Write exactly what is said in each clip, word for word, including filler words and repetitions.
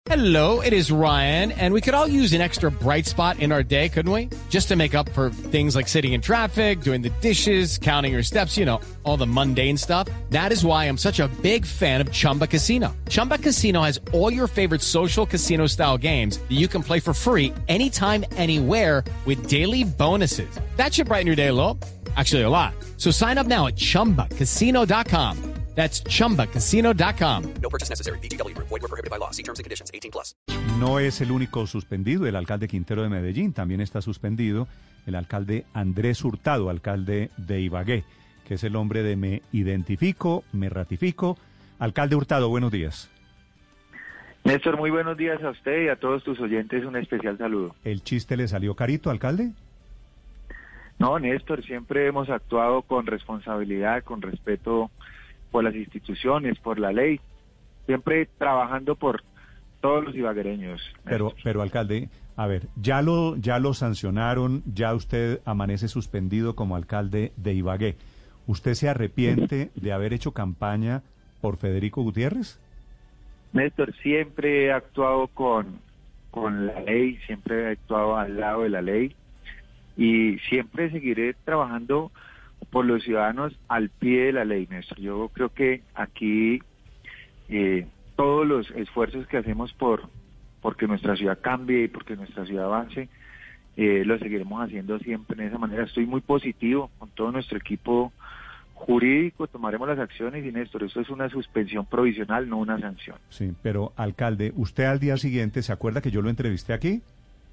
Hello, it is Ryan, and we could all use an extra bright spot in our day, couldn't we? Just to make up for things like sitting in traffic, doing the dishes, counting your steps, you know, all the mundane stuff. That is why I'm such a big fan of Chumba Casino. Chumba Casino has all your favorite social casino-style games that you can play for free anytime, anywhere with daily bonuses. That should brighten your day a little. Actually, a lot. So sign up now at chumba casino dot com. That's chumba casino dot com. No purchase necessary. V G W Group. Void where prohibited by law. See terms and conditions. eighteen plus. No es el único suspendido, el alcalde Quintero de Medellín. También está suspendido el alcalde Andrés Hurtado, alcalde de Ibagué, que es el hombre de me identifico, me ratifico. Alcalde Hurtado, buenos días. Néstor, muy buenos días a usted y a todos tus oyentes. Un especial saludo. ¿El chiste le salió carito, alcalde? No, Néstor, siempre hemos actuado con responsabilidad, con respeto por las instituciones, por la ley, siempre trabajando por todos los ibaguereños. Pero, pero alcalde, a ver, ya lo, ya lo sancionaron, ya usted amanece suspendido como alcalde de Ibagué. ¿Usted se arrepiente de haber hecho campaña por Federico Gutiérrez? Néstor, siempre he actuado con, con la ley, siempre he actuado al lado de la ley y siempre seguiré trabajando por los ciudadanos al pie de la ley, Néstor. Yo creo que aquí eh, todos los esfuerzos que hacemos por porque nuestra ciudad cambie y porque nuestra ciudad avance, eh, lo seguiremos haciendo siempre de esa manera. Estoy muy positivo con todo nuestro equipo jurídico, tomaremos las acciones y, Néstor, esto es una suspensión provisional, no una sanción. Sí, pero alcalde, usted al día siguiente, ¿se acuerda que yo lo entrevisté aquí?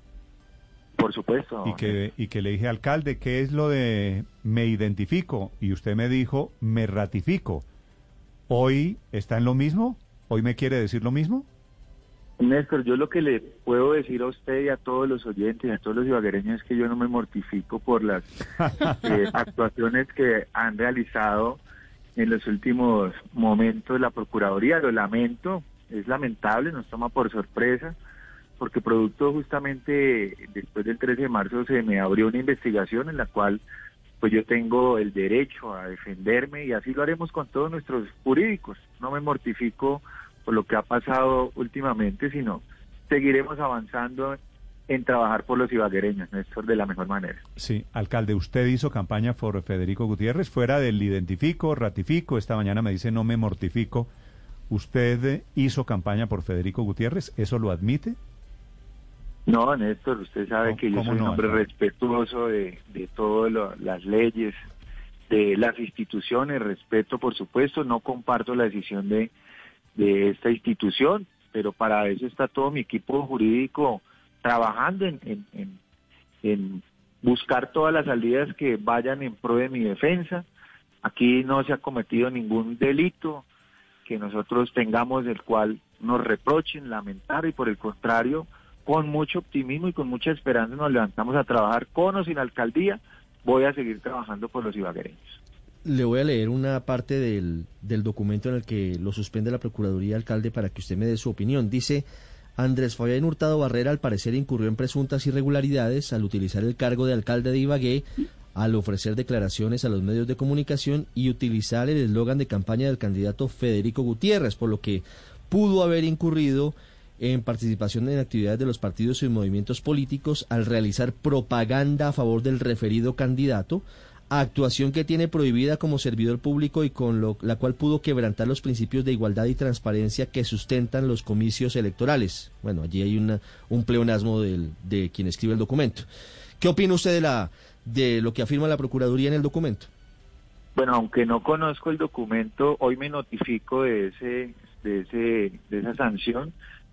Por supuesto. Y que, y que le dije, alcalde, ¿qué es lo de me identifico? Y usted me dijo, me ratifico. ¿Hoy está en lo mismo? ¿Hoy me quiere decir lo mismo? Néstor, yo lo que le puedo decir a usted y a todos los oyentes, a todos los ibaguereños, es que yo no me mortifico por las eh, actuaciones que han realizado en los últimos momentos la Procuraduría. Lo lamento, es lamentable, nos toma por sorpresa, porque producto justamente después del trece de marzo se me abrió una investigación en la cual pues yo tengo el derecho a defenderme y así lo haremos con todos nuestros jurídicos. No me mortifico por lo que ha pasado últimamente, sino seguiremos avanzando en trabajar por los ibaguereños, Néstor, de la mejor manera. Sí, alcalde, usted hizo campaña por Federico Gutiérrez, fuera del identifico, ratifico, esta mañana me dice no me mortifico. ¿Usted hizo campaña por Federico Gutiérrez? ¿Eso lo admite? No, Néstor, usted sabe que yo soy un no, hombre no? respetuoso de, de todas las leyes, de las instituciones, respeto, por supuesto, no comparto la decisión de, de esta institución, pero para eso está todo mi equipo jurídico trabajando en, en, en, en buscar todas las salidas que vayan en pro de mi defensa. Aquí no se ha cometido ningún delito que nosotros tengamos del cual nos reprochen, lamentar, y por el contrario, con mucho optimismo y con mucha esperanza nos levantamos a trabajar con o sin alcaldía. Voy a seguir trabajando por los ibaguereños. Le voy a leer una parte del, del documento en el que lo suspende la Procuraduría, alcalde, para que usted me dé su opinión. Dice: Andrés Fabián Hurtado Barrera al parecer incurrió en presuntas irregularidades al utilizar el cargo de alcalde de Ibagué, al ofrecer declaraciones a los medios de comunicación y utilizar el eslogan de campaña del candidato Federico Gutiérrez, por lo que pudo haber incurrido en participación en actividades de los partidos y movimientos políticos al realizar propaganda a favor del referido candidato, actuación que tiene prohibida como servidor público y con lo, la cual pudo quebrantar los principios de igualdad y transparencia que sustentan los comicios electorales. Bueno, allí hay una, un pleonasmo del, de quien escribe el documento. ¿Qué opina usted de, la, de lo que afirma la Procuraduría en el documento? Bueno, aunque no conozco el documento, hoy me notifico de ese, de ese, de esa sanción.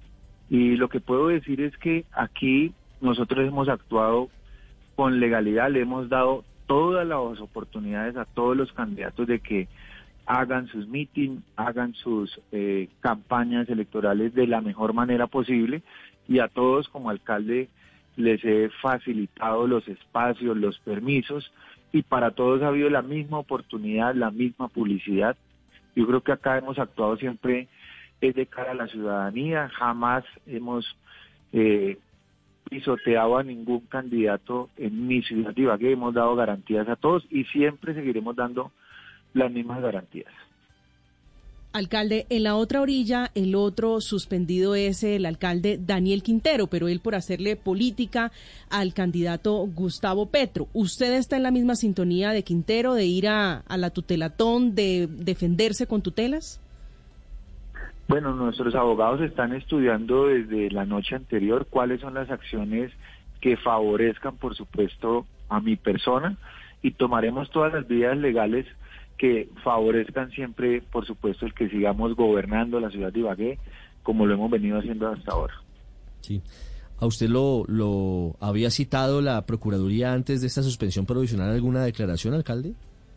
Y lo que puedo decir es que aquí nosotros hemos actuado con legalidad, le hemos dado todas las oportunidades a todos los candidatos de que hagan sus mítines, hagan sus eh, campañas electorales de la mejor manera posible, y a todos como alcalde les he facilitado los espacios, los permisos, y para todos ha habido la misma oportunidad, la misma publicidad. Yo creo que acá hemos actuado siempre es de cara a la ciudadanía, jamás hemos eh, pisoteado a ningún candidato en mi ciudad de Ibagué, hemos dado garantías a todos y siempre seguiremos dando las mismas garantías. Alcalde, en la otra orilla, el otro suspendido es el alcalde Daniel Quintero, pero él por hacerle política al candidato Gustavo Petro. ¿Usted está en la misma sintonía de Quintero, de ir a, a la tutelatón, de defenderse con tutelas? Bueno, nuestros abogados están estudiando desde la noche anterior cuáles son las acciones que favorezcan, por supuesto, a mi persona, y tomaremos todas las vías legales que favorezcan siempre, por supuesto, el que sigamos gobernando la ciudad de Ibagué como lo hemos venido haciendo hasta ahora. Sí. ¿A usted lo, lo había citado la Procuraduría antes de esta suspensión provisional alguna declaración, alcalde?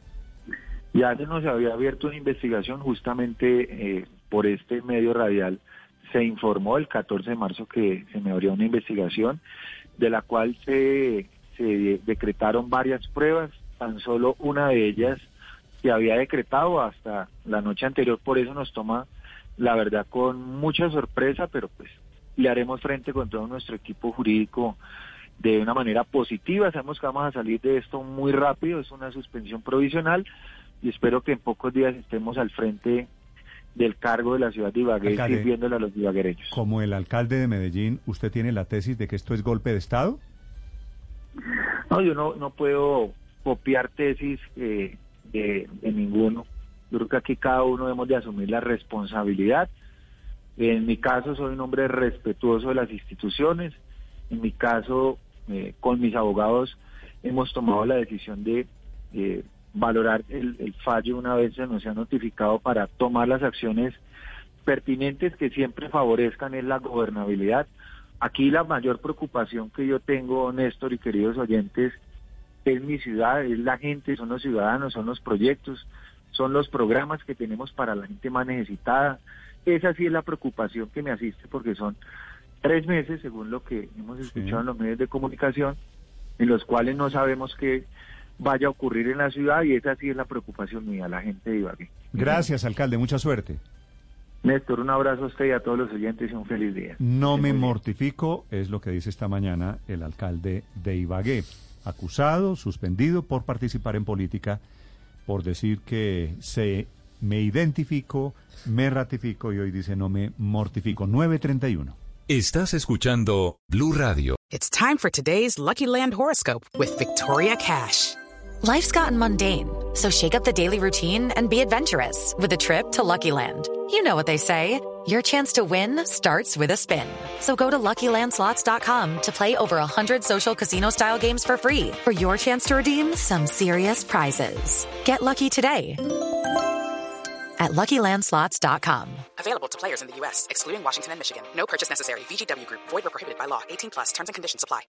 Ya se nos había abierto una investigación justamente eh, por este medio radial. Se informó el catorce de marzo que se me abrió una investigación de la cual se, se decretaron varias pruebas, tan solo una de ellas se había decretado hasta la noche anterior, por eso nos toma, la verdad, con mucha sorpresa, pero pues le haremos frente con todo nuestro equipo jurídico de una manera positiva. Sabemos que vamos a salir de esto muy rápido, es una suspensión provisional y espero que en pocos días estemos al frente del cargo de la ciudad de Ibagué, alcalde, sirviéndole a los ibaguereños. Como el alcalde de Medellín, ¿usted tiene la tesis de que esto es golpe de Estado? No, yo no, no puedo copiar tesis eh, de, de ninguno. Yo creo que aquí cada uno debemos de asumir la responsabilidad. En mi caso soy un hombre respetuoso de las instituciones. En mi caso, eh, con mis abogados hemos tomado la decisión de eh, valorar el, el fallo una vez se nos ha notificado para tomar las acciones pertinentes que siempre favorezcan en la gobernabilidad. Aquí la mayor preocupación que yo tengo, Néstor y queridos oyentes, es mi ciudad, es la gente, son los ciudadanos, son los proyectos, son los programas que tenemos para la gente más necesitada. Esa sí es la preocupación que me asiste, porque son tres meses, según lo que hemos escuchado sí. en los medios de comunicación, en los cuales no sabemos qué vaya a ocurrir en la ciudad, y esa sí es la preocupación mía, la gente de Ibagué. Gracias, alcalde, mucha suerte. Néstor, un abrazo a usted y a todos los oyentes y un feliz día. No me mortifico, es lo que dice esta mañana el alcalde de Ibagué, acusado, suspendido por participar en política, por decir que se me identifico, me ratifico, y hoy dice no me mortifico. nueve treinta y uno. Estás escuchando Blue Radio. It's time for today's Lucky Land horoscope with Victoria Cash. Life's gotten mundane, so shake up the daily routine and be adventurous with a trip to Lucky Land. You know what they say, your chance to win starts with a spin. So go to Lucky Land Slots dot com to play over one hundred social casino-style games for free for your chance to redeem some serious prizes. Get lucky today at Lucky Land Slots dot com. Available to players in the U S, excluding Washington and Michigan. No purchase necessary. V G W Group. Void where prohibited by law. eighteen plus. Terms and conditions apply.